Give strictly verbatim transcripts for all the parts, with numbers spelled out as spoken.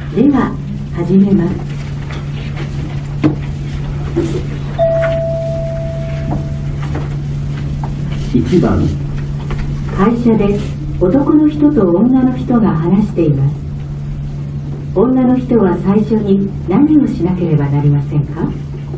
では始めます。 いちばん、 会社です。男の人と女の人が話しています。女の人は最初に何をしなければなりませんか？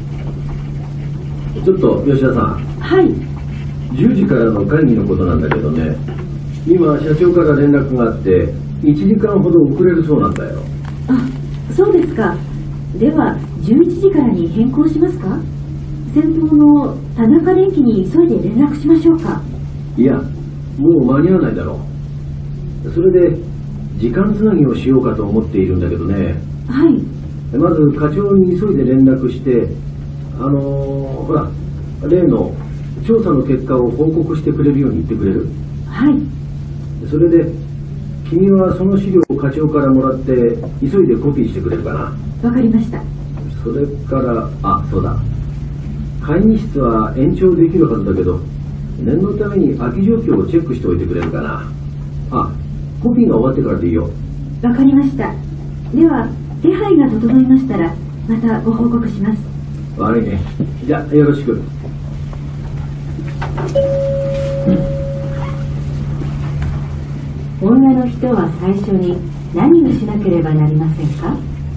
ちょっと吉田さん。 はい。 じゅうじからの会議のことなんだけどね、今社長から連絡があっていちじかんほど遅れるそうなんだよ。 あ、そうですか。ではじゅういちじからに変更しますか？先頭の田中電機に急いで連絡しましょうか？ いや、もう間に合わないだろう。それで時間つなぎをしようかと思っているんだけどね。 はい。 まず課長に急いで連絡して、あのー、ほら例の調査の結果を報告してくれるように言ってくれる？ はい。 それで君はその資料を課長からもらって急いでコピーしてくれるかな？ わかりました。 それから、あ、そうだ、会議室は延長できるはずだけど念のために空き状況をチェックしておいてくれるかな？あ、コピーが終わってからでいいよ。 わかりました。では手配が整いましたらまたご報告します。 悪いね。じゃあよろしく。 女の人は最初に何をしなければなりませんか？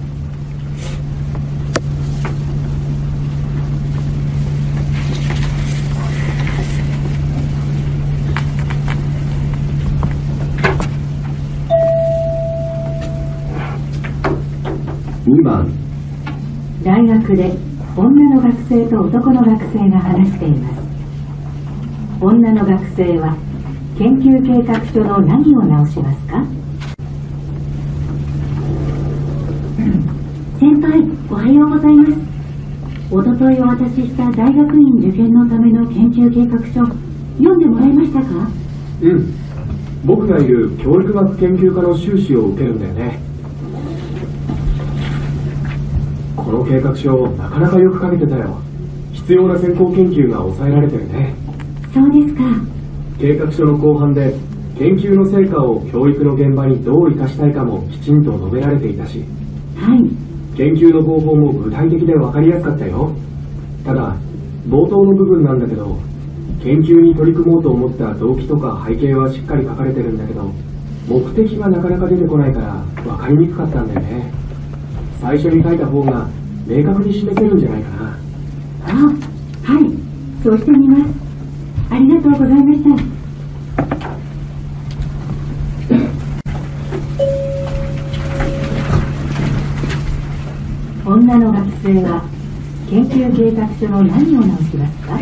にばん、 大学で女の学生と男の学生が話しています。女の学生は研究計画書の何を直しますか？先輩、おはようございます。おとといお渡しした大学院受験のための研究計画書、読んでもらいましたか？ うん。僕がいる教育学研究科の修士を受けるんだよね。この計画書、なかなかよく書けてたよ。必要な先行研究が抑えられてるね。 そうですか。 計画書の後半で研究の成果を教育の現場にどう生かしたいかもきちんと述べられていたし、 はい。 研究の方法も具体的で分かりやすかったよ。ただ冒頭の部分なんだけど、研究に取り組もうと思った動機とか背景はしっかり書かれてるんだけど、目的がなかなか出てこないから分かりにくかったんだよね。最初に書いた方が明確に示せるんじゃないかな。 あ、はい。そうしてみます。ありがとうございました。女の学生は研究計画書の何を直しますか？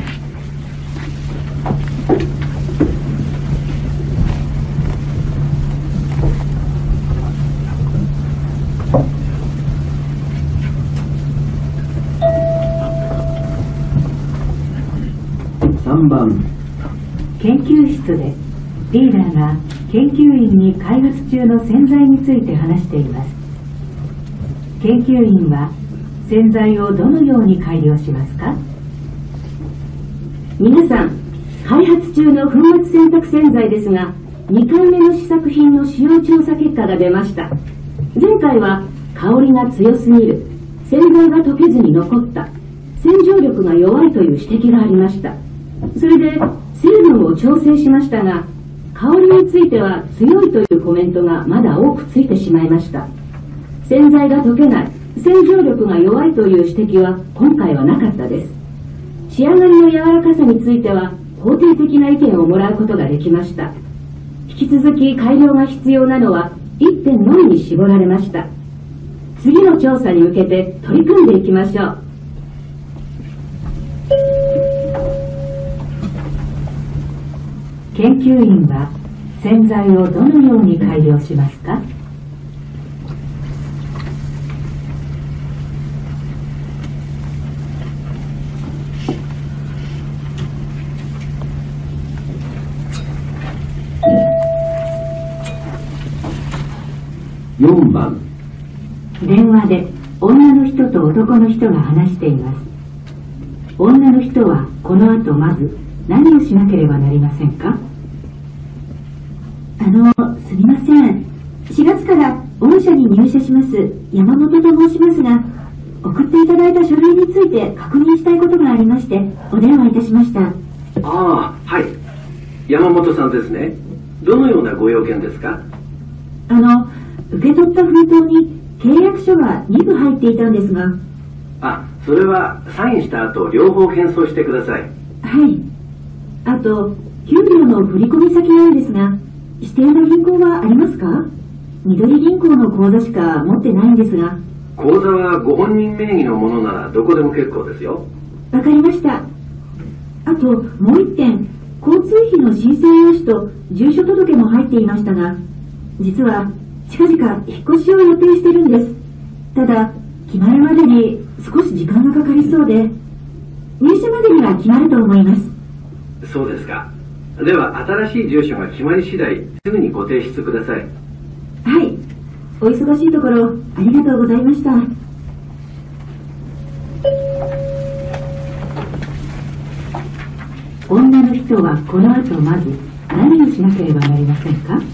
さんばん、 研究室でリーダーが研究員に開発中の洗剤について話しています。研究員は洗剤をどのように改良しますか？ 皆さん、開発中の粉末洗濯洗剤ですが、にかいめの試作品の使用調査結果が出ました。前回は香りが強すぎる、洗剤が溶けずに残った、洗浄力が弱いという指摘がありました。それで成分を調整しましたが、香りについては強いというコメントがまだ多くついてしまいました。洗剤が溶けない、洗浄力が弱いという指摘は今回はなかったです。仕上がりの柔らかさについては肯定的な意見をもらうことができました。引き続き改良が必要なのはいってんのみに絞られました。次の調査に向けて取り組んでいきましょう。 研究員は洗剤をどのように改良しますか？ よんばん、 電話で女の人と男の人が話しています。女の人はこの後まず何をしなければなりませんか？ あの、すみません。しがつから御社に入社します山本と申しますが、送っていただいた書類について確認したいことがありましてお電話いたしました。 ああ、はい。山本さんですね。どのようなご用件ですか？ あの、受け取った封筒に契約書がにぶ入っていたんですが。 あ、それはサインした後両方返送してください。 はい。あと、給料の振込先なんですが、指定の銀行はありますか？緑銀行の口座しか持ってないんですが。 口座はご本人名義のものならどこでも結構ですよ。 わかりました。あと、もう一点、交通費の申請用紙と住所届も入っていましたが、実は近々引っ越しを予定してるんです。ただ、決まるまでに少し時間がかかりそうで、入社までには決まると思います。 そうですか。では新しい住所が決まり次第すぐにご提出ください。 はい。お忙しいところありがとうございました。 女の人はこの後まず何をしなければなりませんか？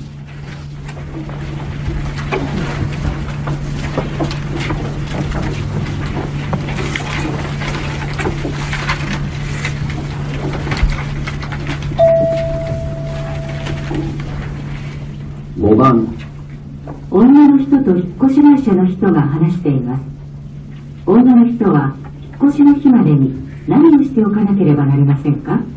ごばん。 女の人と引っ越し会社の人が話しています。女の人は引っ越しの日までに何をしておかなければなりませんか？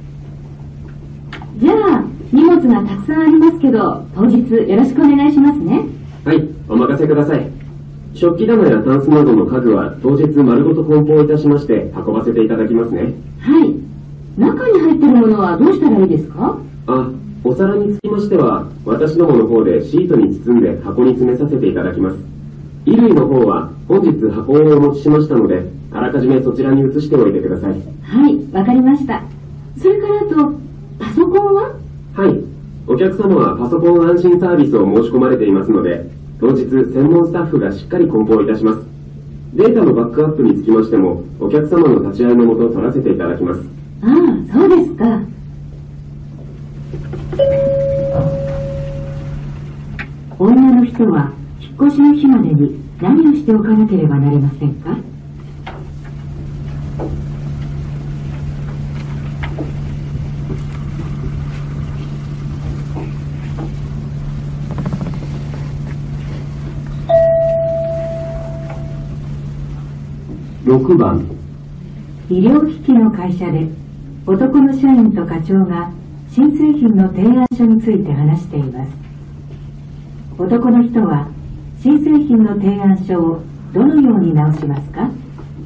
じゃあ、荷物がたくさんありますけど、当日よろしくお願いしますね。 はい、お任せください。食器棚やタンスなどの家具は当日丸ごと梱包いたしまして運ばせていただきますね。 はい。中に入ってるものはどうしたらいいですか？ あ、お皿につきましては、私どもの方でシートに包んで箱に詰めさせていただきます。衣類の方は本日箱をお持ちしましたので、あらかじめそちらに移しておいてください。 はい、わかりました。それからあと、パソコンは？ はい。お客様はパソコン安心サービスを申し込まれていますので、当日専門スタッフがしっかり梱包いたします。データのバックアップにつきましても、お客様の立ち会いのもと取らせていただきます。 ああ、そうですか。 女の人は引っ越しの日までに何をしておかなければなりませんか？ ろくばん。 医療機器の会社で男の社員と課長が新製品の提案書について話しています。男の人は新製品の提案書をどのように直しますか？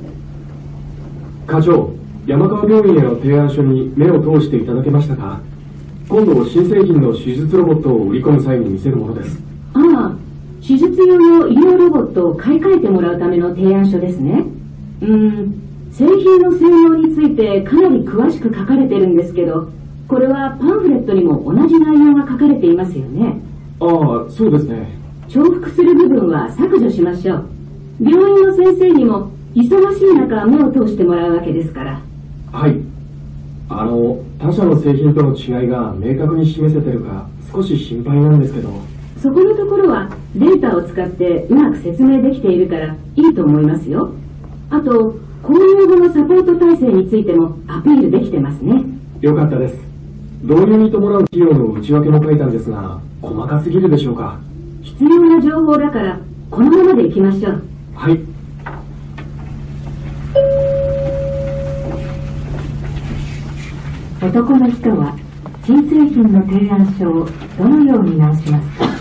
課長、山川病院への提案書に目を通していただけましたか？今度新製品の手術ロボットを売り込む際に見せるものです。 ああ、手術用の医療ロボットを買い替えてもらうための提案書ですね。うーん、製品の性能についてかなり詳しく書かれてるんですけど、これはパンフレットにも同じ内容が書かれていますよね。 ああ、そうですね。 重複する部分は削除しましょう。病院の先生にも忙しい中目を通してもらうわけですから。 はい。あの、他社の製品との違いが明確に示せてるか少し心配なんですけど。 そこのところはデータを使ってうまく説明できているからいいと思いますよ。あと、購入後のサポート体制についてもアピールできてますね。 よかったです。導入に伴う費用の内訳も書いたんですが、細かすぎるでしょうか？ 必要な情報だからこのままでいきましょう。 はい。 男の人は新製品の提案書をどのように直しますか？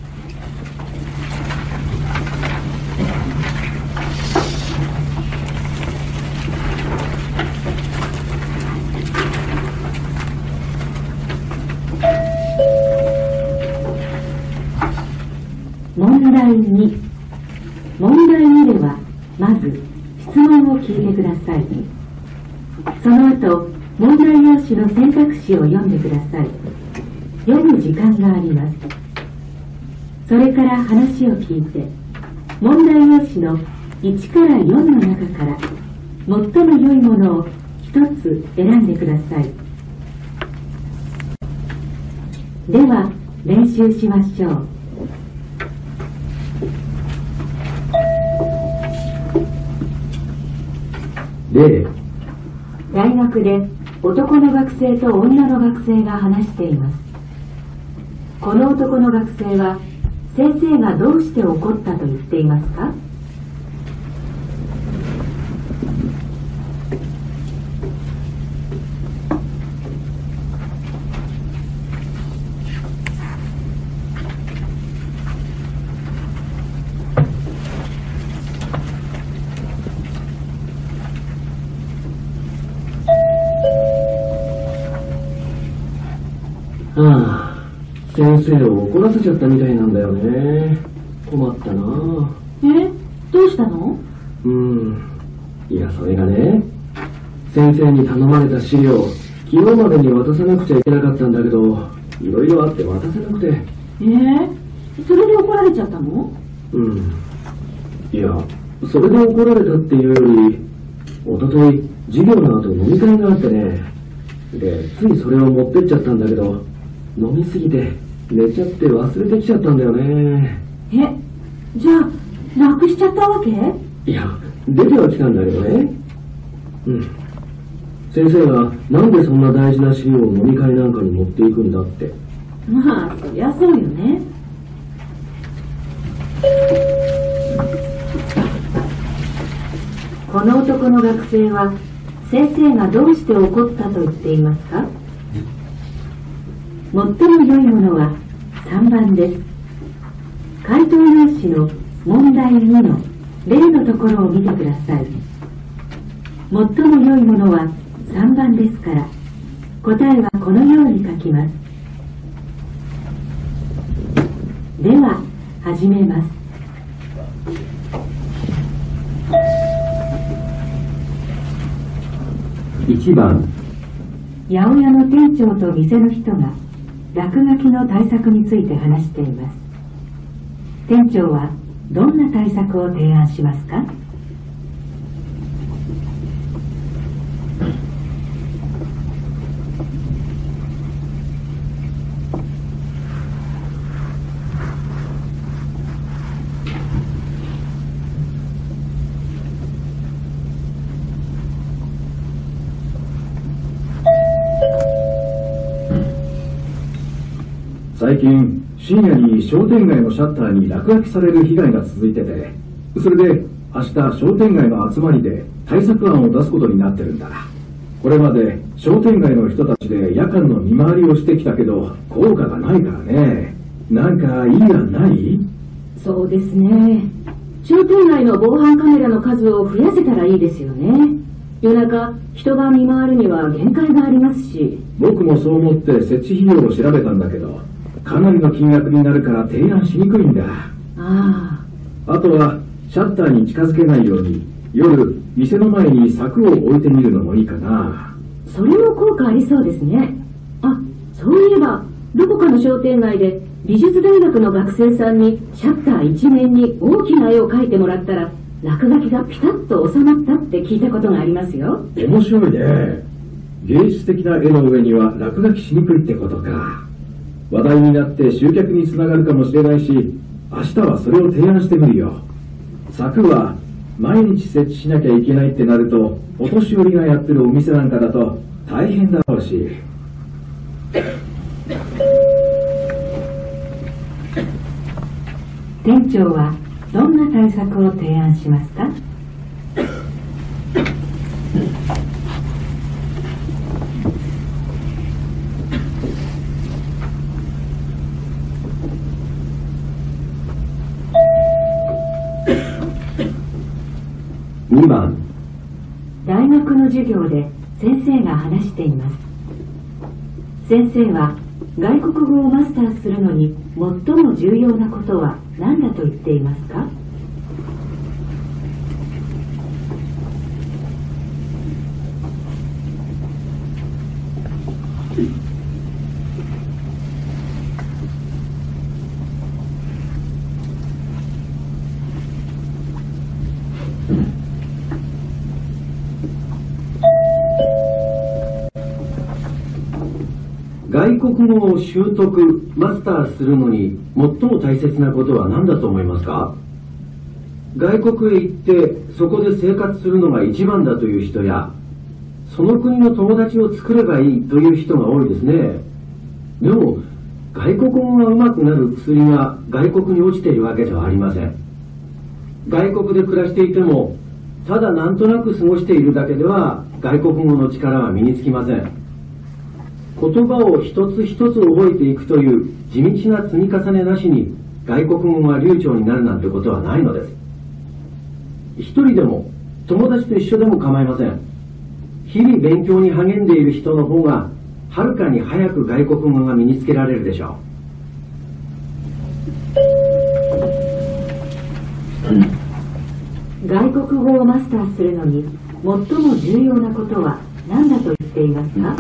問題に。問題にではまず質問を聞いてください。その後問題用紙の選択肢を読んでください。読む時間があります。それから話を聞いて問題用紙のいちからよんの中から最も良いものをひとつ選んでください。では練習しましょう。 例、 大学で男の学生と女の学生が話しています。この男の学生は先生がどうして怒ったと言っていますか？ ああ、先生を怒らせちゃったみたいなんだよね。困ったな。 え、どうしたの？ うん。いや、それがね、先生に頼まれた資料、昨日までに渡さなくちゃいけなかったんだけど、いろいろあって渡せなくて。 えー、それで怒られちゃったの？ うん。いや、それで怒られたっていうより、おととい、授業の後飲み会があってね。で、ついそれを持ってっちゃったんだけど、飲みすぎて寝ちゃって忘れてきちゃったんだよね。 え、じゃあ、なくしちゃったわけ？ いや、出てはきたんだけどね。うん。先生がなんでそんな大事な資料を飲み会なんかに持っていくんだって。 まあ、そりゃそうよね。 この男の学生は先生がどうして怒ったと言っていますか？最も良いものはさんばんです。回答用紙の問題にの例のところを見てください。最も良いものはさんばんですから、答えはこのように書きます。では始めます。 いちばん、 八百屋の店長と店の人が落書きの対策について話しています。店長はどんな対策を提案しますか？ 最近、深夜に商店街のシャッターに落書きされる被害が続いてて、それで明日商店街の集まりで対策案を出すことになってるんだ。これまで商店街の人たちで夜間の見回りをしてきたけど効果がないからね。なんかいい案ない？ そうですね。商店街の防犯カメラの数を増やせたらいいですよね。夜中、人が見回るには限界がありますし。 僕もそう思って設置費用を調べたんだけど、かなりの金額になるから提案しにくいんだ。 ああ。あとは、シャッターに近づけないように、夜、店の前に柵を置いてみるのもいいかな。 それも効果ありそうですね。あ、そういえば、どこかの商店街で美術大学の学生さんにシャッター一面に大きな絵を描いてもらったら、落書きがピタッと収まったって聞いたことがありますよ。 面白いね。芸術的な絵の上には落書きしにくいってことか。話題になって集客につながるかもしれないし、明日はそれを提案してみるよ。柵は毎日設置しなきゃいけないってなると、お年寄りがやってるお店なんかだと大変だろうし。 店長はどんな対策を提案しますか？ にばん、 大学の授業で先生が話しています。先生は外国語をマスターするのに最も重要なことは何だと言っていますか？ 外国語を習得、マスターするのに最も大切なことは何だと思いますか？外国へ行ってそこで生活するのが一番だという人や、その国の友達を作ればいいという人が多いですね。でも外国語が上手くなる薬が外国に落ちているわけではありません。外国で暮らしていても、ただなんとなく過ごしているだけでは外国語の力は身につきません。言葉を一つ一つ覚えていくという地道な積み重ねなしに外国語が流暢になるなんてことはないのです。一人でも友達と一緒でも構いません。日々勉強に励んでいる人の方がはるかに早く外国語が身につけられるでしょう。外国語をマスターするのに最も重要なことは何だと言っていますか？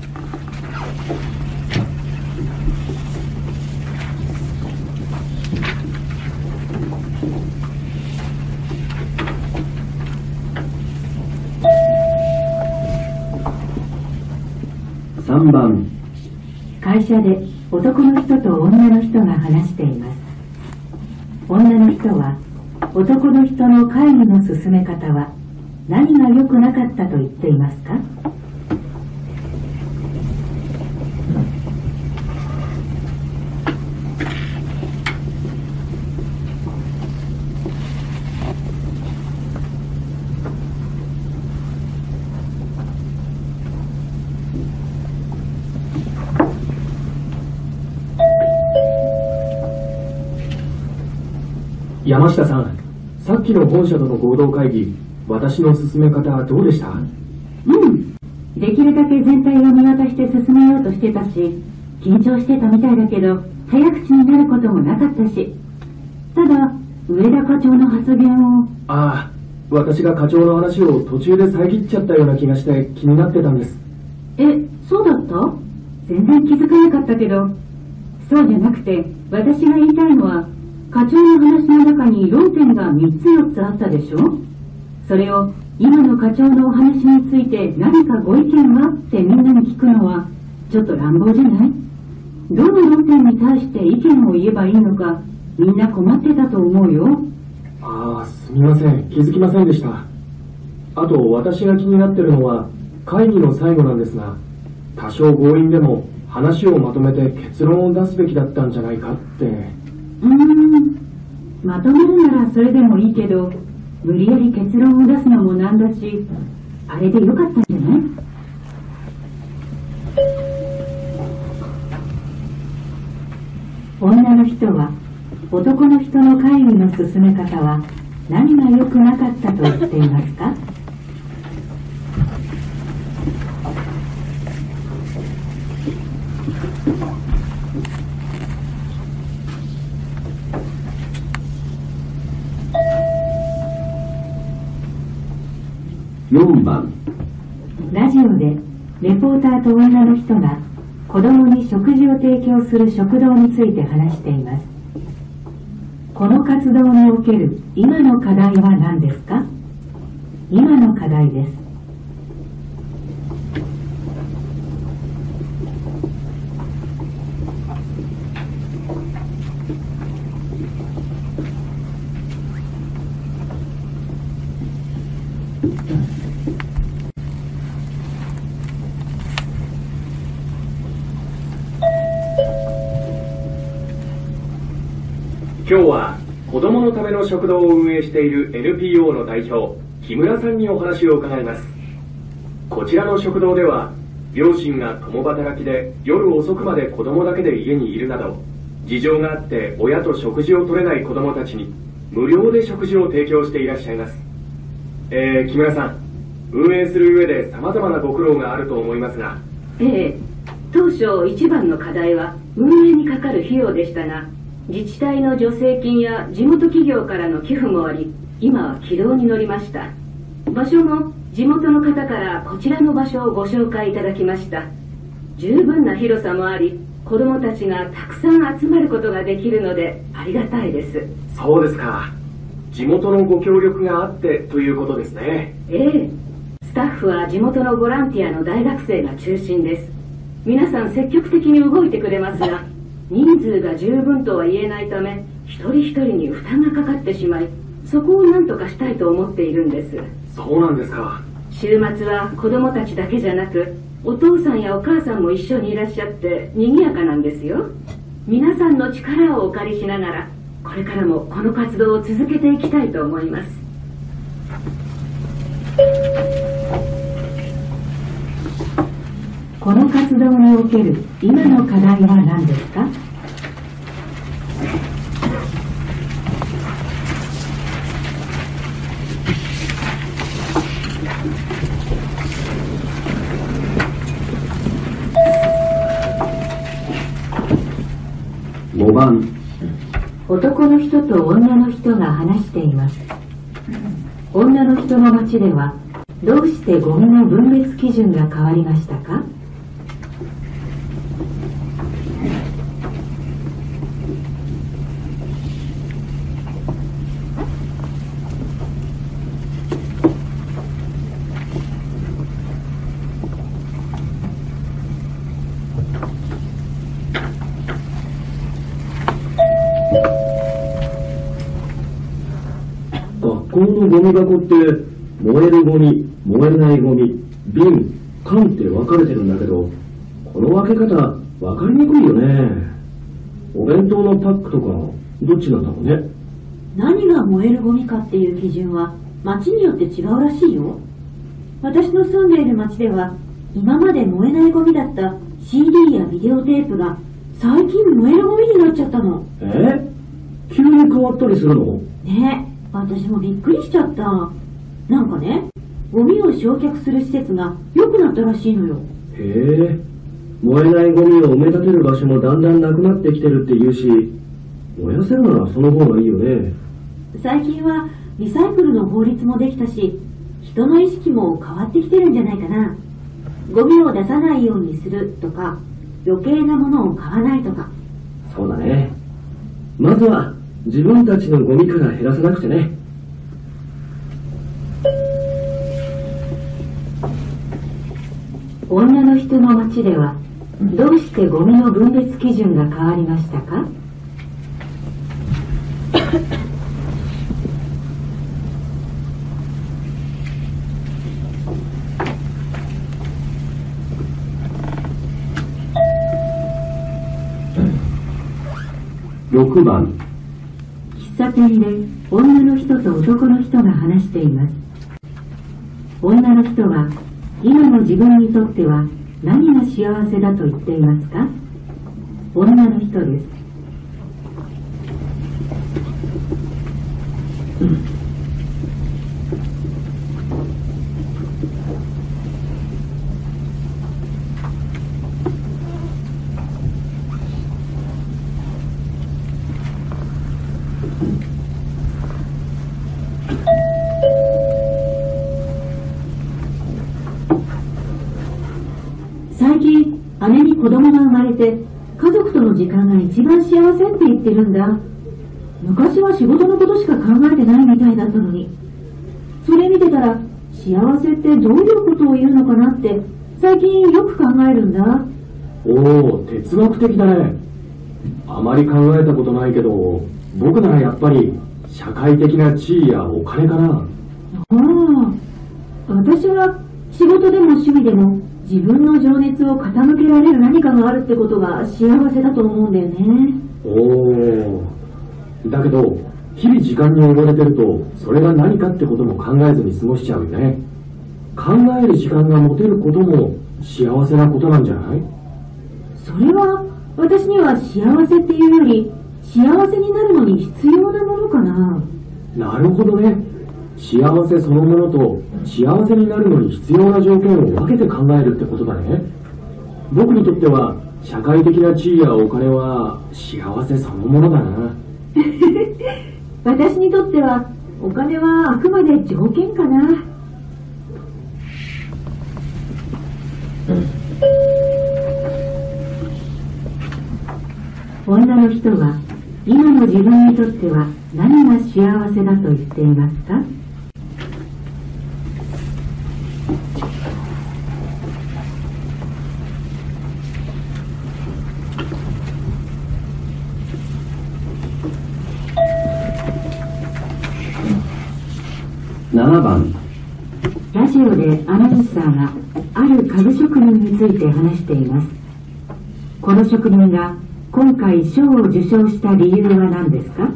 さんばん。 会社で男の人と女の人が話しています。女の人は男の人の会議の進め方は何が良くなかったと言っていますか？ 山下さん、さっきの本社との合同会議、私の進め方はどうでした？ うん。できるだけ全体を見渡して進めようとしてたし、緊張してたみたいだけど、早口になることもなかったし。ただ、上田課長の発言を。 ああ、私が課長の話を途中で遮っちゃったような気がして気になってたんです。 え、そうだった？全然気づかなかったけど。そうじゃなくて、私が言いたいのは、課長の話の中に論点がみっつよっつあったでしょ？それを今の課長のお話について何かご意見はってみんなに聞くのはちょっと乱暴じゃない？どの論点に対して意見を言えばいいのかみんな困ってたと思うよ。 ああ、すみません。気づきませんでした。あと私が気になってるのは会議の最後なんですが、多少強引でも話をまとめて結論を出すべきだったんじゃないかって。 うーん、まとめるならそれでもいいけど、無理やり結論を出すのもなんだし、あれでよかったんじゃない？ 女の人は男の人の会議の進め方は何が良くなかったと言っていますか？ よんばん。 ラジオでレポーターと女の人が子供に食事を提供する食堂について話しています。この活動における今の課題は何ですか？今の課題です。 今日は子どものための食堂を運営している エヌピーオー の代表、木村さんにお話を伺います。こちらの食堂では、両親が共働きで夜遅くまで子供だけで家にいるなど、事情があって親と食事を取れない子供たちに無料で食事を提供していらっしゃいます。えー、木村さん、運営する上で様々なご苦労があると思いますが。 ええ、当初一番の課題は運営にかかる費用でしたが、自治体の助成金や地元企業からの寄付もあり、今は軌道に乗りました。場所も地元の方からこちらの場所をご紹介いただきました。十分な広さもあり、子どもたちがたくさん集まることができるのでありがたいです。 そうですか。地元のご協力があってということですね。 ええ、スタッフは地元のボランティアの大学生が中心です。 皆さん積極的に動いてくれますが、人数が十分とは言えないため、一人一人に負担がかかってしまい、そこを何とかしたいと思っているんです。 そうなんですか。 週末は子供たちだけじゃなく、お父さんやお母さんも一緒にいらっしゃって賑やかなんですよ。皆さんの力をお借りしながら、これからもこの活動を続けていきたいと思います。 この活動における今の課題は何ですか？ ごばん。 男の人と女の人が話しています。女の人の町ではどうしてゴミの分別基準が変わりましたか？ 学校のゴミ箱って燃えるゴミ、燃えないゴミ、瓶、缶って分かれてるんだけど、この分け方分かりにくいよね。お弁当のパックとかどっちなんだろうね。 何が燃えるゴミかっていう基準は町によって違うらしいよ。私の住んでいる町では今まで燃えないゴミだった シーディー やビデオテープが最近燃えるゴミになっちゃったの。 え？急に変わったりするの？ ねえ、私もびっくりしちゃった。なんかね、ゴミを焼却する施設が良くなったらしいのよ。 へえ、燃えないゴミを埋め立てる場所もだんだんなくなってきてるって言うし、燃やせるならその方がいいよね。 最近はリサイクルの法律もできたし、人の意識も変わってきてるんじゃないかな。ゴミを出さないようにするとか、余計なものを買わないとか。 そうだね。まずは自分たちのゴミから減らさなくてね。 女の人の町ではどうしてゴミの分別基準が変わりましたか？ ろくばん。 喫茶店で女の人と男の人が話しています。女の人は今の自分にとっては何が幸せだと言っていますか？女の人です。 最近、姉に子供が生まれて、家族との時間が一番幸せって言ってるんだ。昔は仕事のことしか考えてないみたいだったのに。それ見てたら、幸せってどういうことを言うのかなって、最近よく考えるんだ。 おお、哲学的だね。あまり考えたことないけど、僕ならやっぱり社会的な地位やお金かな。 ああ、私は仕事でも趣味でも自分の情熱を傾けられる何かがあるってことが幸せだと思うんだよね。 おお、だけど日々時間に追われてるとそれが何かってことも考えずに過ごしちゃうよね。考える時間が持てることも幸せなことなんじゃない？ それは私には幸せっていうより幸せになるのに必要なものかな。 なるほどね。幸せそのものと幸せになるのに必要な条件を分けて考えるってことだね。僕にとっては社会的な地位やお金は幸せそのものだな。 私にとってはお金はあくまで条件かな。 女の人は今の自分にとっては何が幸せだと言っていますか？ ななばん。 ラジオでアナウンサーがある家具職人について話しています。この職人が今回賞を受賞した理由は何ですか？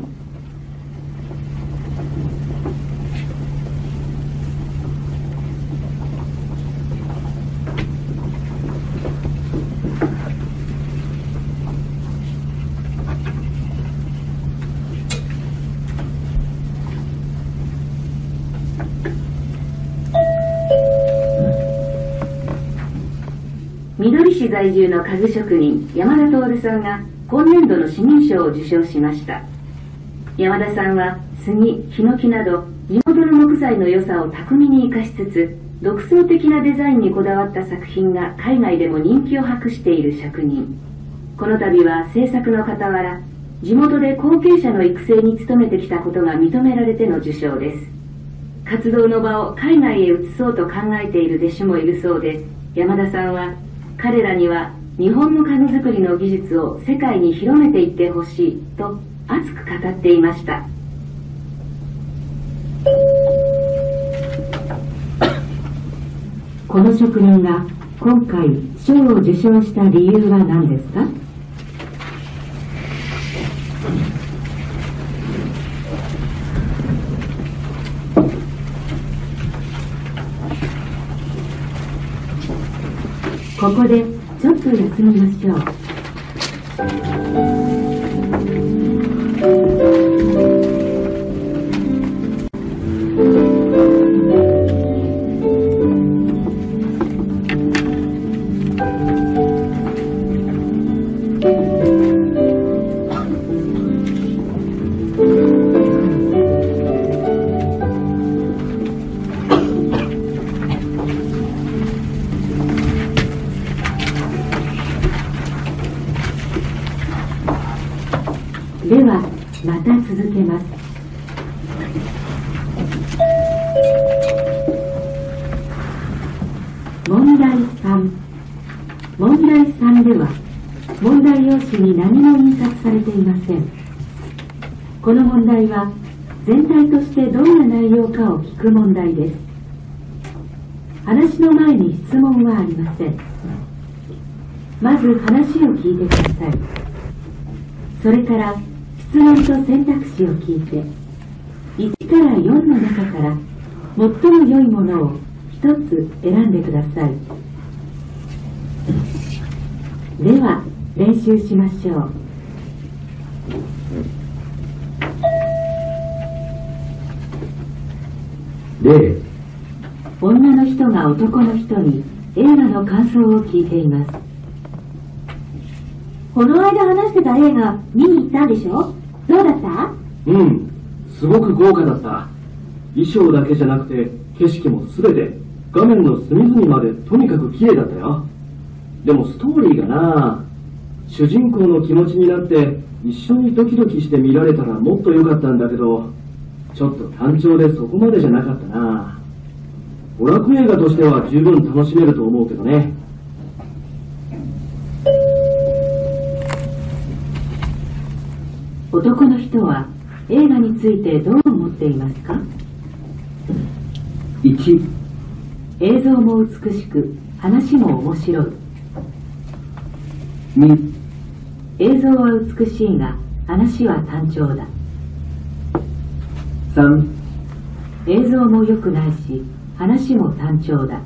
緑市在住の家具職人山田徹さんが今年度の市民賞を受賞しました。山田さんは杉、ヒノキなど地元の木材の良さを巧みに生かしつつ、独創的なデザインにこだわった作品が海外でも人気を博している職人。この度は制作の傍ら、地元で後継者の育成に努めてきたことが認められての受賞です。活動の場を海外へ移そうと考えている弟子もいるそうで、山田さんは彼らには日本の家具作りの技術を世界に広めていってほしいと熱く語っていました。 この職人が今回賞を受賞した理由は何ですか？ここでちょっと休みましょう。ではまた続けます。問題さん。問題さんでは問題用紙に何も印刷されていません。この問題は全体としてどんな内容かを聞く問題です。話の前に質問はありません。まず話を聞いてください。それから質問と選択肢を聞いて、いちからよんの中から最も良いものをひとつ選んでください。では練習しましょう。 例、 女の人が男の人に映画の感想を聞いています。 この間話してた映画見に行ったんでしょ？どうだった？ うん、すごく豪華だった。衣装だけじゃなくて景色も全て画面の隅々までとにかく綺麗だったよ。でもストーリーがな、主人公の気持ちになって一緒にドキドキして見られたらもっと良かったんだけど、ちょっと単調でそこまでじゃなかったな。娯楽映画としては十分楽しめると思うけどね。 男の人は映画についてどう思っていますか？ いち、 映像も美しく話も面白い。 に、 映像は美しいが話は単調だ。 さん、 映像も良くないし話も単調だ。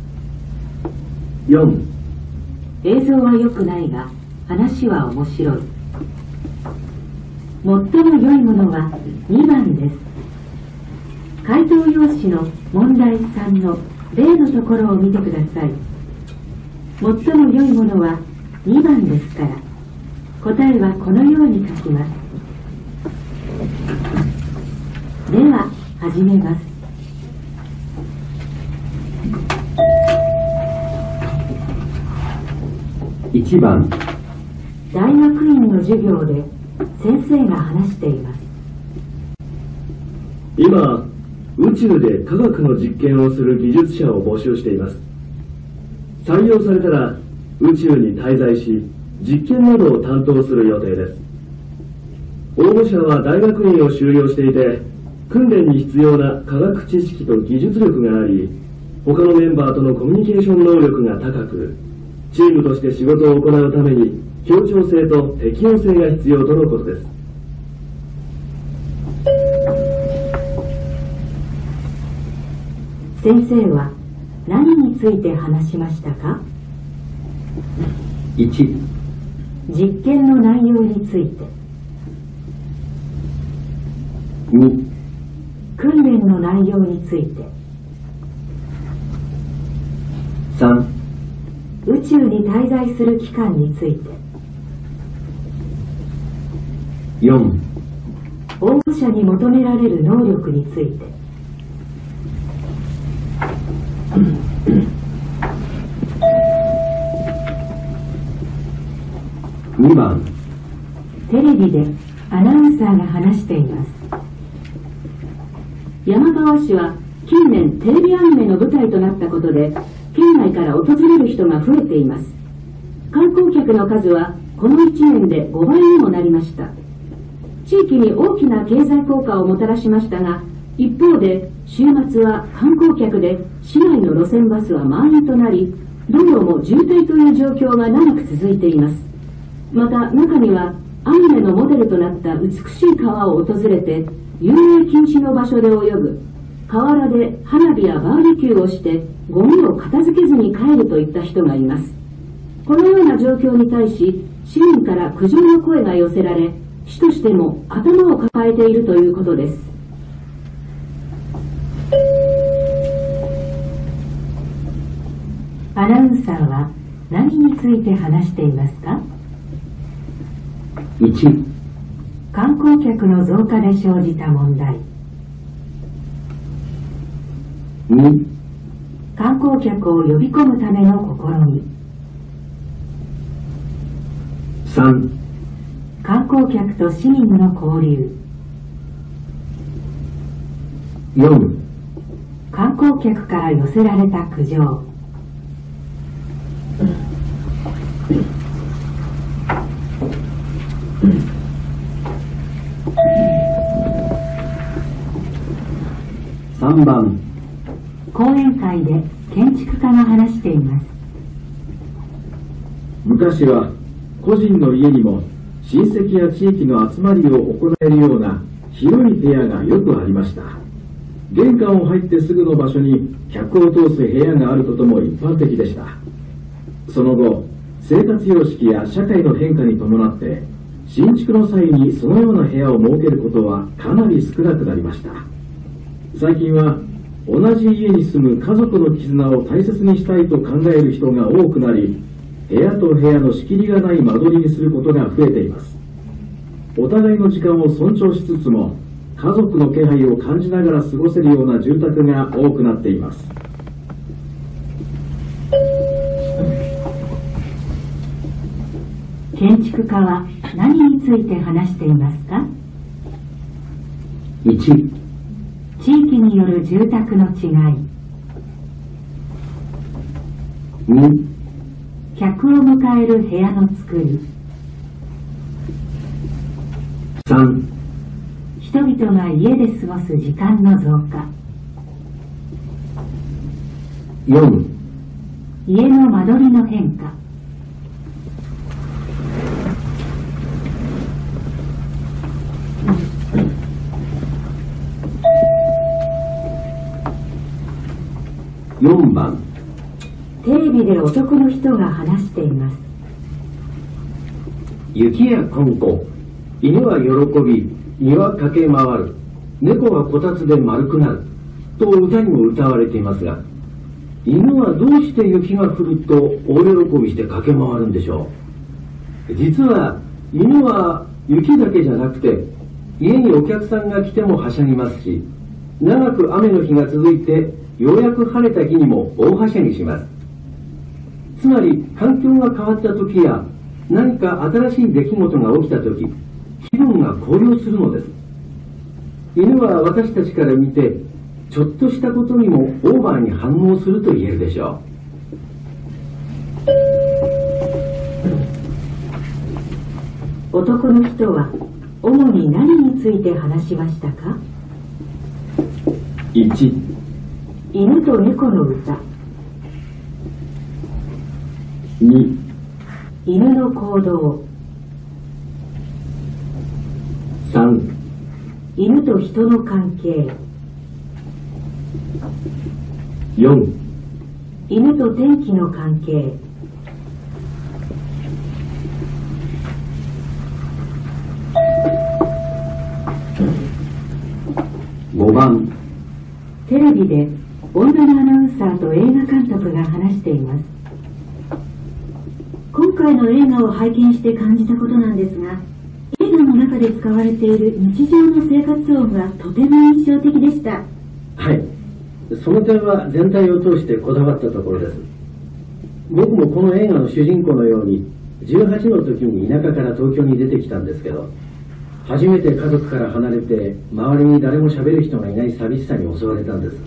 よん、 映像は良くないが話は面白い。最も良いものはにばんです。回答用紙の問題さんの例のところを見てください。最も良いものはにばんですから、答えはこのように書きます。では始めます。 いちばん、 大学院の授業で先生が話しています。 今、宇宙で科学の実験をする技術者を募集しています。採用されたら宇宙に滞在し、実験などを担当する予定です。応募者は大学院を修了していて、 訓練に必要な科学知識と技術力があり、他のメンバーとのコミュニケーション能力が高く、チームとして仕事を行うために協調性と適応性が必要とのことです。 先生は何について話しましたか？ いち、 実験の内容について。 に、 訓練の内容について。 さん、 宇宙に滞在する期間について。 よん、 応募者に求められる能力について。 にばん、 テレビでアナウンサーが話しています。 山川市は近年テレビアニメの舞台となったことで、県外から訪れる人が増えています。観光客の数はこのいちねんでごばいにもなりました。地域に大きな経済効果をもたらしましたが、一方で週末は観光客で市内の路線バスは満員となり、道路も渋滞という状況が長く続いています。また中にはアニメのモデルとなった美しい川を訪れて遊泳禁止の場所で泳ぐ、河原で花火やバーベキューをしてゴミを片付けずに帰るといった人がいます。このような状況に対し市民から苦情の声が寄せられ、市としても頭を抱えているということです。 アナウンサーは何について話していますか？ いち、 観光客の増加で生じた問題。 に、 観光客を呼び込むための試み。 さん、 観光客と市民の交流。 よん、 観光客から寄せられた苦情。 さんばん、 講演会で建築家が話しています。 昔は個人の家にも親戚や地域の集まりを行えるような広い部屋がよくありました。玄関を入ってすぐの場所に客を通す部屋があることも一般的でした。その後、生活様式や社会の変化に伴って新築の際にそのような部屋を設けることはかなり少なくなりました。最近は同じ家に住む家族の絆を大切にしたいと考える人が多くなり、部屋と部屋の仕切りがない間取りにすることが増えています。お互いの時間を尊重しつつも家族の気配を感じながら過ごせるような住宅が多くなっています。 建築家は何について話していますか？ いち、 地域による住宅の違い。 に、 客を迎える部屋の作り。 さん、 人々が家で過ごす時間の増加。 よん、 家の間取りの変化。 よんばん、 テレビで男の人が話しています。 雪やこんこ、犬は喜び、庭駆け回る、猫はこたつで丸くなる、と歌にも歌われていますが、犬はどうして雪が降ると大喜びして駆け回るんでしょう。実は犬は雪だけじゃなくて、家にお客さんが来てもはしゃぎますし、長く雨の日が続いてようやく晴れた日にも大はしゃぎします。つまり環境が変わった時や何か新しい出来事が起きた時、気分が高揚するのです。犬は私たちから見てちょっとしたことにもオーバーに反応すると言えるでしょう。男の人は主に何について話しましたか？ いち、 犬と猫の歌。 に、 犬の行動。 さん、 犬と人の関係。 よん、 犬と天気の関係。 ごばん。 テレビで女のアナウンサーと映画監督が話しています。 今回の映画を拝見して感じたことなんですが、映画の中で使われている日常の生活音がとても印象的でした。 はい。その点は全体を通してこだわったところです。僕もこの映画の主人公のようにじゅうはちの時に田舎から東京に出てきたんですけど、初めて家族から離れて周りに誰も喋る人がいない寂しさに襲われたんです。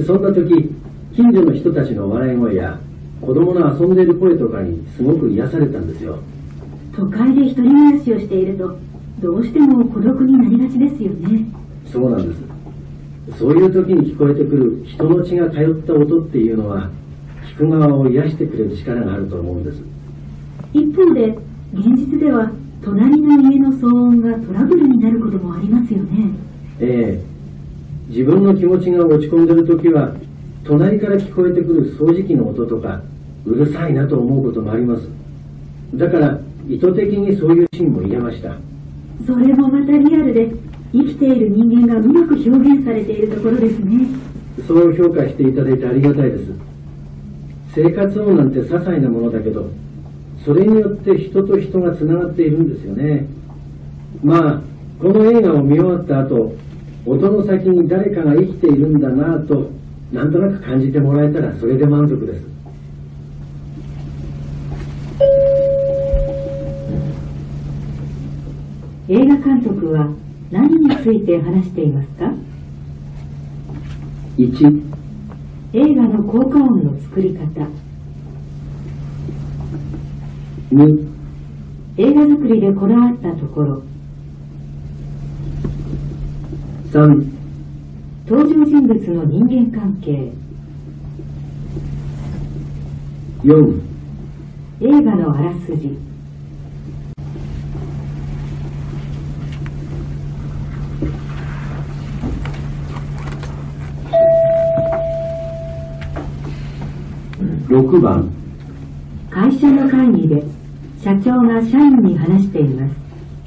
そんな時、近所の人たちの笑い声や子供の遊んでいる声とかにすごく癒されたんですよ。 都会で一人暮らしをしているとどうしても孤独になりがちですよね。 そうなんです。そういう時に聞こえてくる人の血が通った音っていうのは聞く側を癒してくれる力があると思うんです。 一方で現実では隣の家の騒音がトラブルになることもありますよね。 ええ、自分の気持ちが落ち込んでる時は隣から聞こえてくる掃除機の音とかうるさいなと思うこともあります。だから意図的にそういうシーンも入れました。 それもまたリアルで生きている人間がうまく表現されているところですね。 そう評価していただいてありがたいです。生活音なんて些細なものだけど、それによって人と人がつながっているんですよね。まあこの映画を見終わった後、音の先に誰かが生きているんだなぁとなんとなく感じてもらえたらそれで満足です。 映画監督は何について話していますか？ いち、 映画の効果音の作り方。 に、 映画作りでこだわったところ。 さん、 登場人物の人間関係。 よん、 映画のあらすじ。 ろくばん、 会社の会議で社長が社員に話しています。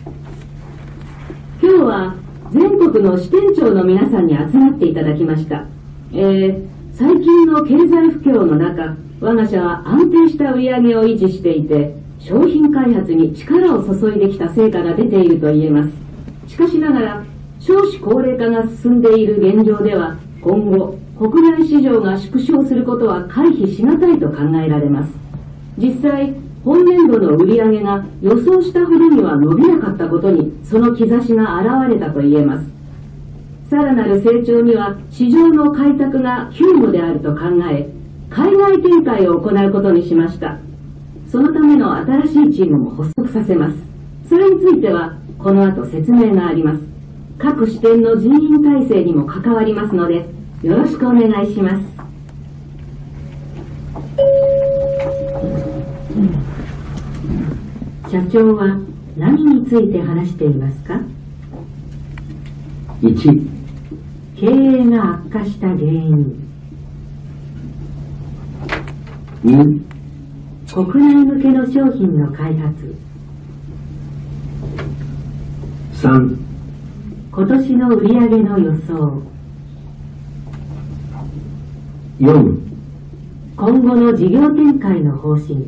今日は全国の支店長の皆さんに集まっていただきました。えー、最近の経済不況の中、我が社は安定した売り上げを維持していて、商品開発に力を注いできた成果が出ていると言えます。しかしながら、少子高齢化が進んでいる現状では、今後、国内市場が縮小することは回避しがたいと考えられます。実際、本年度の売り上げが予想したほどには伸びなかったことに、その兆しが現れたと言えます。さらなる成長には市場の開拓が急務であると考え、海外展開を行うことにしました。そのための新しいチームも発足させます。それについては、この後説明があります。各支店の人員体制にも関わりますので、よろしくお願いします。 社長は何について話していますか？ いち、 経営が悪化した原因。 に、 国内向けの商品の開発。 さん、 今年の売上の予想。 よん、 今後の事業展開の方針。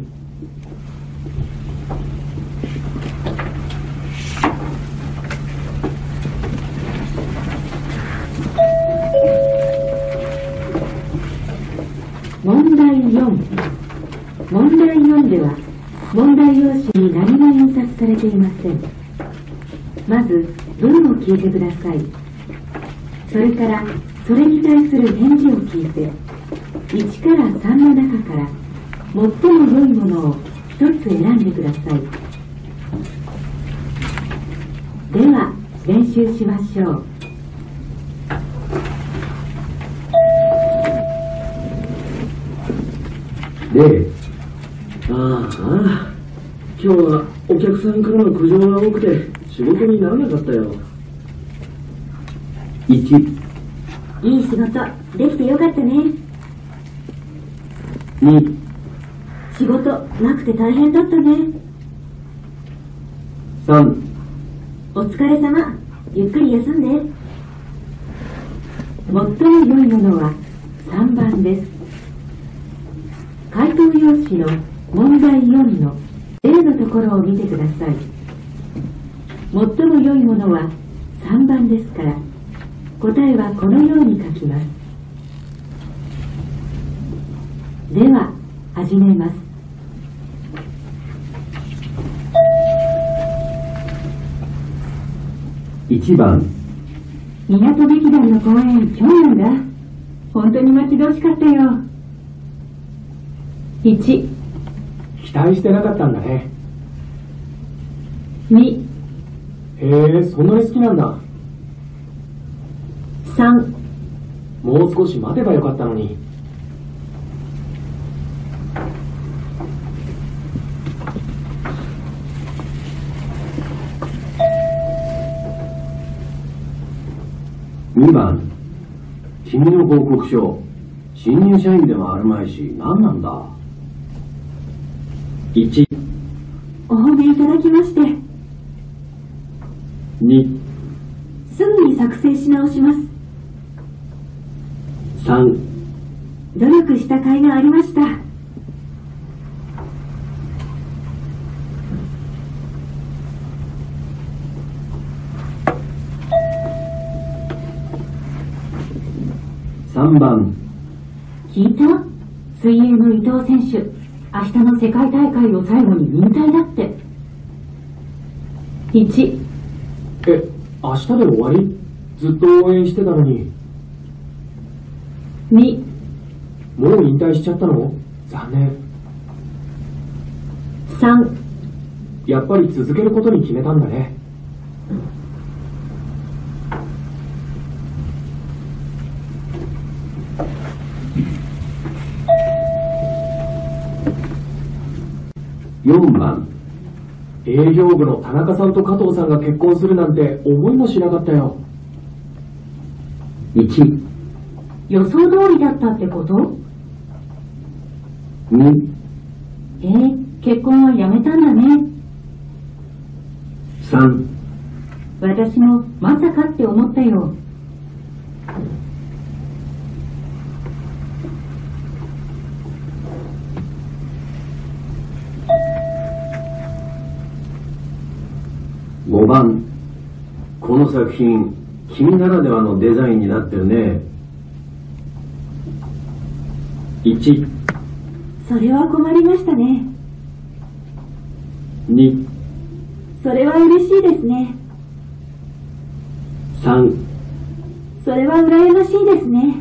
問題よん。問題よんでは問題用紙に何も印刷されていません。まず文を聞いてください。それからそれに対する返事を聞いて、いちからさんの中から最も良いものをひとつ選んでください。では練習しましょう。 で、 ああ、今日はお客さんからの苦情が多くて仕事にならなかったよ。 いち、 いい仕事できてよかったね。 に、 仕事なくて大変だったね。 さん、 お疲れ様。ゆっくり休んで。 最も良いものはさんばんです。回答用紙の問題よんの A のところを見てください。最も良いものはさんばんですから、答えはこのように書きます。では始めます。 いちばん、 港劇団の公演今日なんだ。本当に待ち遠しかったよ。いち、 期待してなかったんだね。 に、 へえ、そんなに好きなんだ。 さん、 もう少し待てばよかったのに。 にばん、君の報告書、新入社員でもあるまいし、何なんだ。 いち、 お褒めいただきまして、 に、 すぐに作成し直します。 さん、 努力した甲斐がありました。 さんばん、 聞いた？水泳の伊藤選手、明日の世界大会を最後に引退だって。いち、 え、明日で終わり？ずっと応援してたのに。 に、 もう引退しちゃったの？残念。 さん、 やっぱり続けることに決めたんだね。 よんばん、 営業部の田中さんと加藤さんが結婚するなんて思いもしなかったよ。 いち、 予想通りだったってこと？ に、 えー、結婚はやめたんだね。 さん、 私もまさかって思ったよ。 ごばん、この作品、君ならではのデザインになってるね。 いち、 それは困りましたね。 に、 それは嬉しいですね。 さん、 それは羨ましいですね。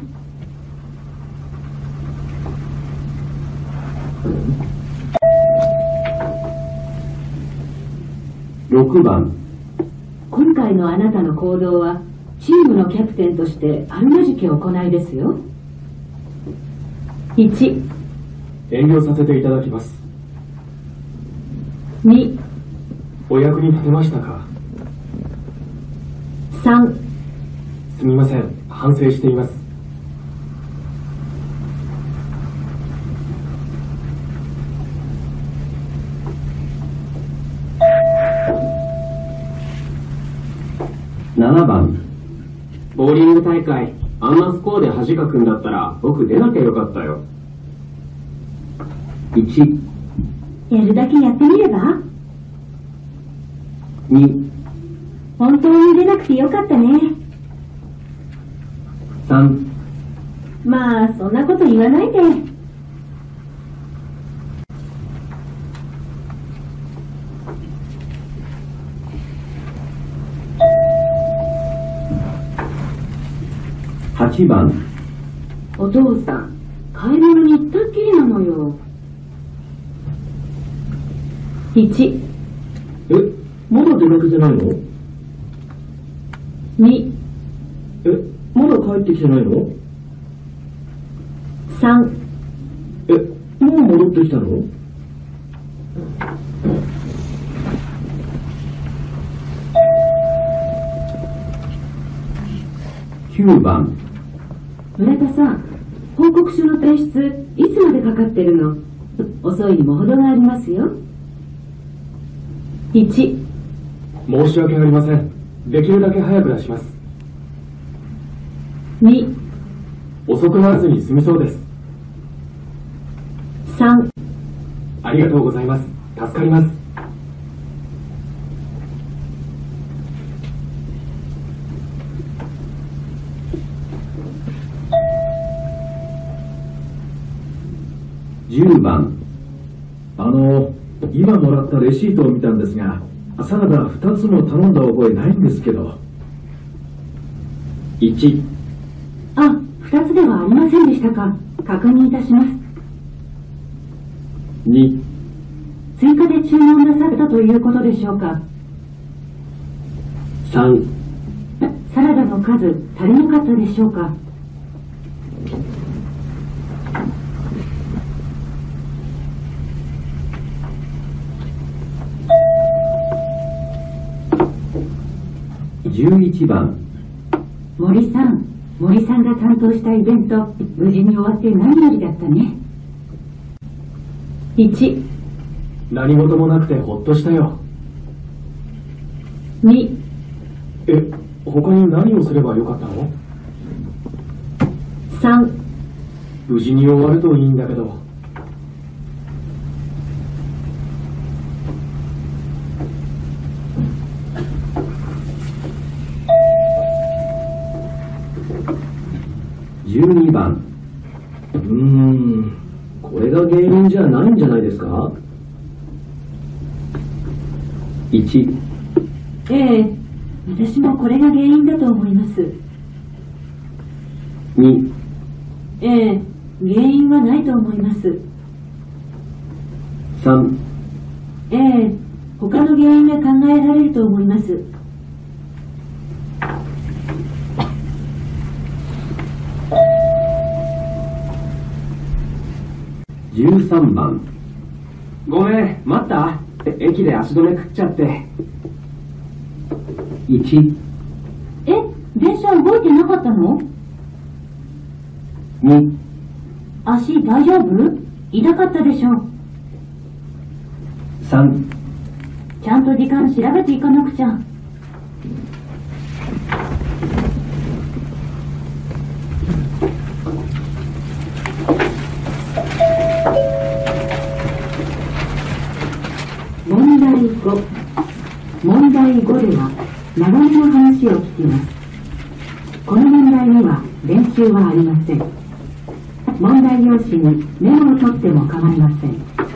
ろくばん、 今回のあなたの行動はチームのキャプテンとしてあるまじき行いですよ。いち、 遠慮させていただきます。 に、 お役に立てましたか？ さん、 すみません、反省しています。 ななばん、 ボーリング大会、あんなスコアで恥かくんだったら僕出なきゃよかったよ。 いち、 やるだけやってみれば？ に、 本当に出なくてよかったね。 さん、 まあ、そんなこと言わないで。 はちばん、 お父さん、買い物に行ったっきりなのよ。いち、 え、まだ出かけてないの？ に、 え、まだ帰ってきてないの？ さん、 え、もう戻ってきたの？ きゅうばん。 村田さん、報告書の提出、いつまでかかってるの？遅いにも程がありますよ。いち、 申し訳ありません。できるだけ早く出します。 に、 遅くならずに済みそうです。 さん、 ありがとうございます。助かります。 じゅうばん。 あの、今もらったレシートを見たんですが、サラダふたつも頼んだ覚えないんですけど。 いち、 あ、二つではありませんでしたか。確認いたします。 に、 追加で注文なさったということでしょうか。 さん、 サラダの数足りなかったでしょうか。 じゅういちばん。 森さん、森さんが担当したイベント、無事に終わって何よりだったね。 いち、 何事もなくてほっとしたよ。 に、 え、他に何をすればよかったの？ さん、 無事に終わるといいんだけど。 じゅうにばん。 うーん、これが原因じゃないんじゃないですか？ いち、 ええ、私もこれが原因だと思います。 に、 ええ、原因はないと思います。 さん、 ええ、他の原因が考えられると思います。 じゅうさんばん。 ごめん、待った？駅で足止め食っちゃって。 いち、 え、電車動いてなかったの？ に、 足大丈夫？痛かったでしょ。 さん、 ちゃんと時間調べていかなくちゃ。 問題ご。問題ごでは流れの話を聞きます。この問題には練習はありません。問題用紙にメモを取っても構いません。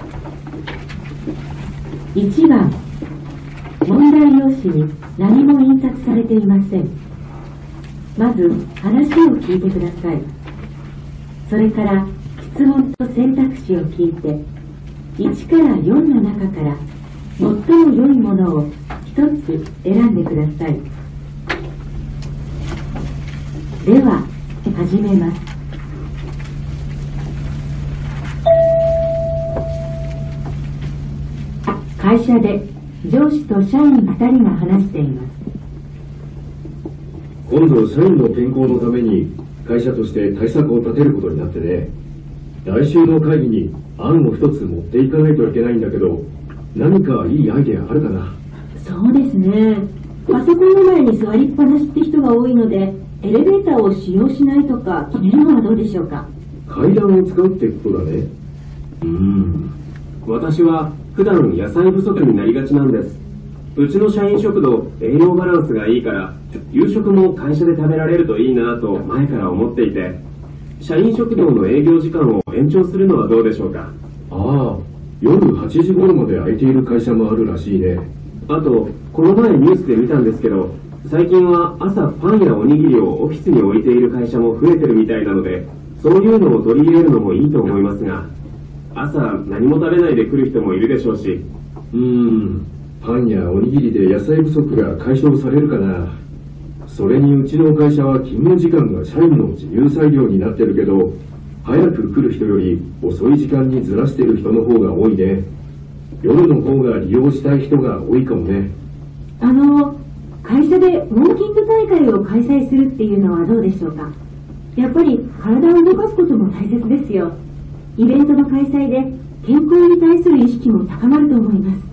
いちばん、問題用紙に何も印刷されていません。まず話を聞いてください。それから質問と選択肢を聞いていちからよんの中から最も良いものをひとつ選んでください。では始めます。会社で上司と社員ふたりが話しています。 今度社員の健康のために会社として対策を立てることになってね。来週の会議に案を一つ持っていかないといけないんだけど、何かいいアイデアあるかな？ そうですね。パソコンの前に座りっぱなしって人が多いので、エレベーターを使用しないとか決めるのはどうでしょうか。 階段を使うってことだね。うーん。 私は普段野菜不足になりがちなんです。うちの社員食堂、栄養バランスがいいから夕食も会社で食べられるといいなと前から思っていて、社員食堂の営業時間を延長するのはどうでしょうか。 ああ、夜はちじ頃まで空いている会社もあるらしいね。 あと、この前ニュースで見たんですけど、最近は朝パンやおにぎりをオフィスに置いている会社も増えてるみたいなので、そういうのを取り入れるのもいいと思いますが、朝何も食べないで来る人もいるでしょうし。 うーん、パンやおにぎりで野菜不足が解消されるかな。それにうちの会社は勤務時間が社員の自由裁量になってるけど、 早く来る人より遅い時間にずらしてる人の方が多いね。夜の方が利用したい人が多いかもね。 あの、会社でウォーキング大会を開催するっていうのはどうでしょうか。やっぱり体を動かすことも大切ですよ。イベントの開催で健康に対する意識も高まると思います。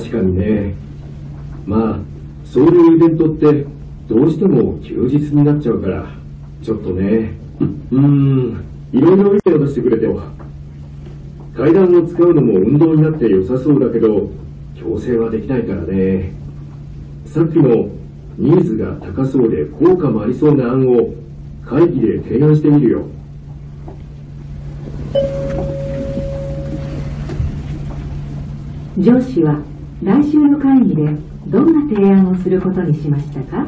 確かにね。まあ、そういうイベントってどうしても休日になっちゃうから、ちょっとね。うーん、いろいろ意見を出してくれてよ。階段を使うのも運動になって良さそうだけど、強制はできないからね。さっきのニーズが高そうで効果もありそうな案を会議で提案してみるよ。 上司は来週の会議でどんな提案をすることにしましたか？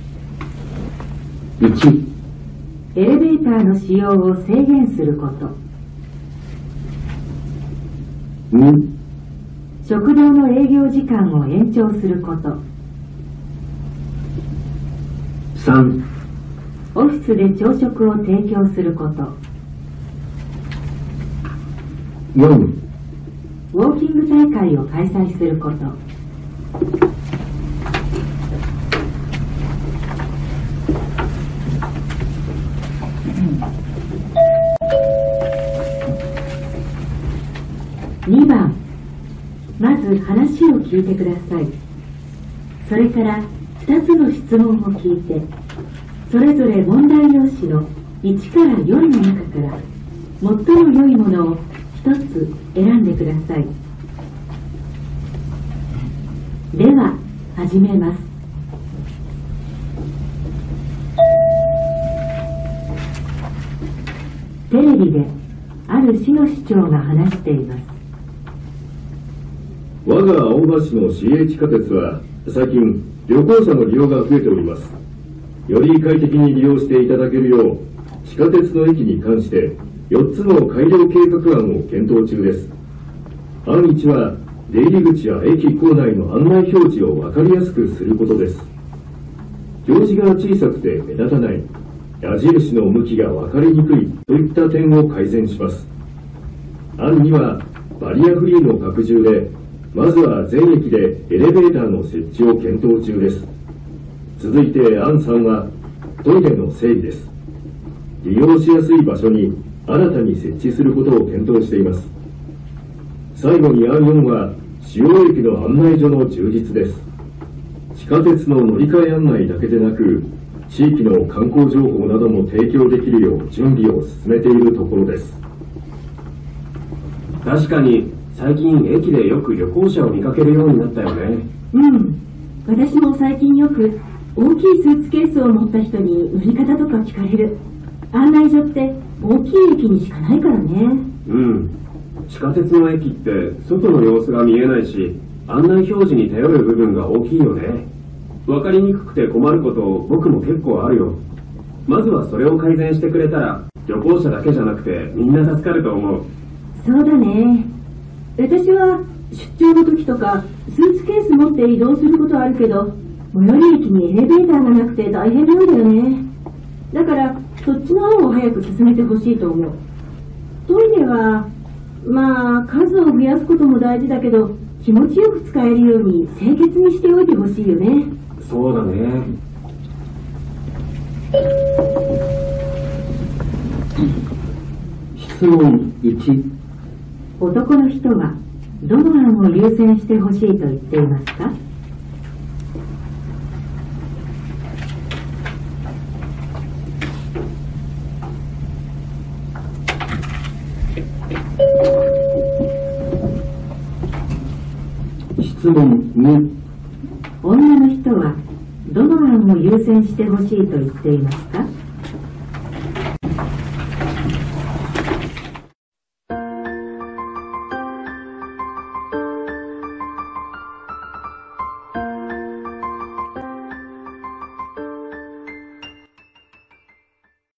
いち. エレベーターの使用を制限すること。に. 食堂の営業時間を延長すること。さん. オフィスで朝食を提供すること。よん. ウォーキング大会を開催すること。にばん、まず話を聞いてください。それからふたつの質問を聞いて、それぞれ問題用紙のいちからよんの中から最も良いものをひとつ選んでください。では始めます。テレビである市の市長が話しています。 我が青葉市の市営地下鉄は最近旅行者の利用が増えております。より快適に利用していただけるよう地下鉄の駅に関してよっつの改良計画案を検討中です。案いちは出入り口や駅構内の案内表示を分かりやすくすることです。表示が小さくて目立たない、矢印の向きが分かりにくいといった点を改善します。案にはバリアフリーの拡充で、まずは全駅でエレベーターの設置を検討中です。続いて案さんはトイレの整備です。利用しやすい場所に新たに設置することを検討しています。最後に案よんは主要駅の案内所の充実です。地下鉄の乗り換え案内だけでなく、地域の観光情報なども提供できるよう準備を進めているところです。 確かに最近駅でよく旅行者を見かけるようになったよね。 うん。私も最近よく大きいスーツケースを持った人に売り方とか聞かれる。案内所って大きい駅にしかないからね。 うん。地下鉄の駅って外の様子が見えないし、案内表示に頼る部分が大きいよね。わかりにくくて困ること僕も結構あるよ。まずはそれを改善してくれたら旅行者だけじゃなくてみんな助かると思う。 そうだね。私は出張の時とかスーツケース持って移動することあるけど、最寄り駅にエレベーターがなくて大変なんだよね。だからそっちの案を早く進めてほしいと思う。トイレはまあ数を増やすことも大事だけど、気持ちよく使えるように清潔にしておいてほしいよね。 そうだね。 質問いち。 男の人はどの案を優先してほしいと言っていますか？ 質問に。 女の人はどの案を優先してほしいと言っていますか？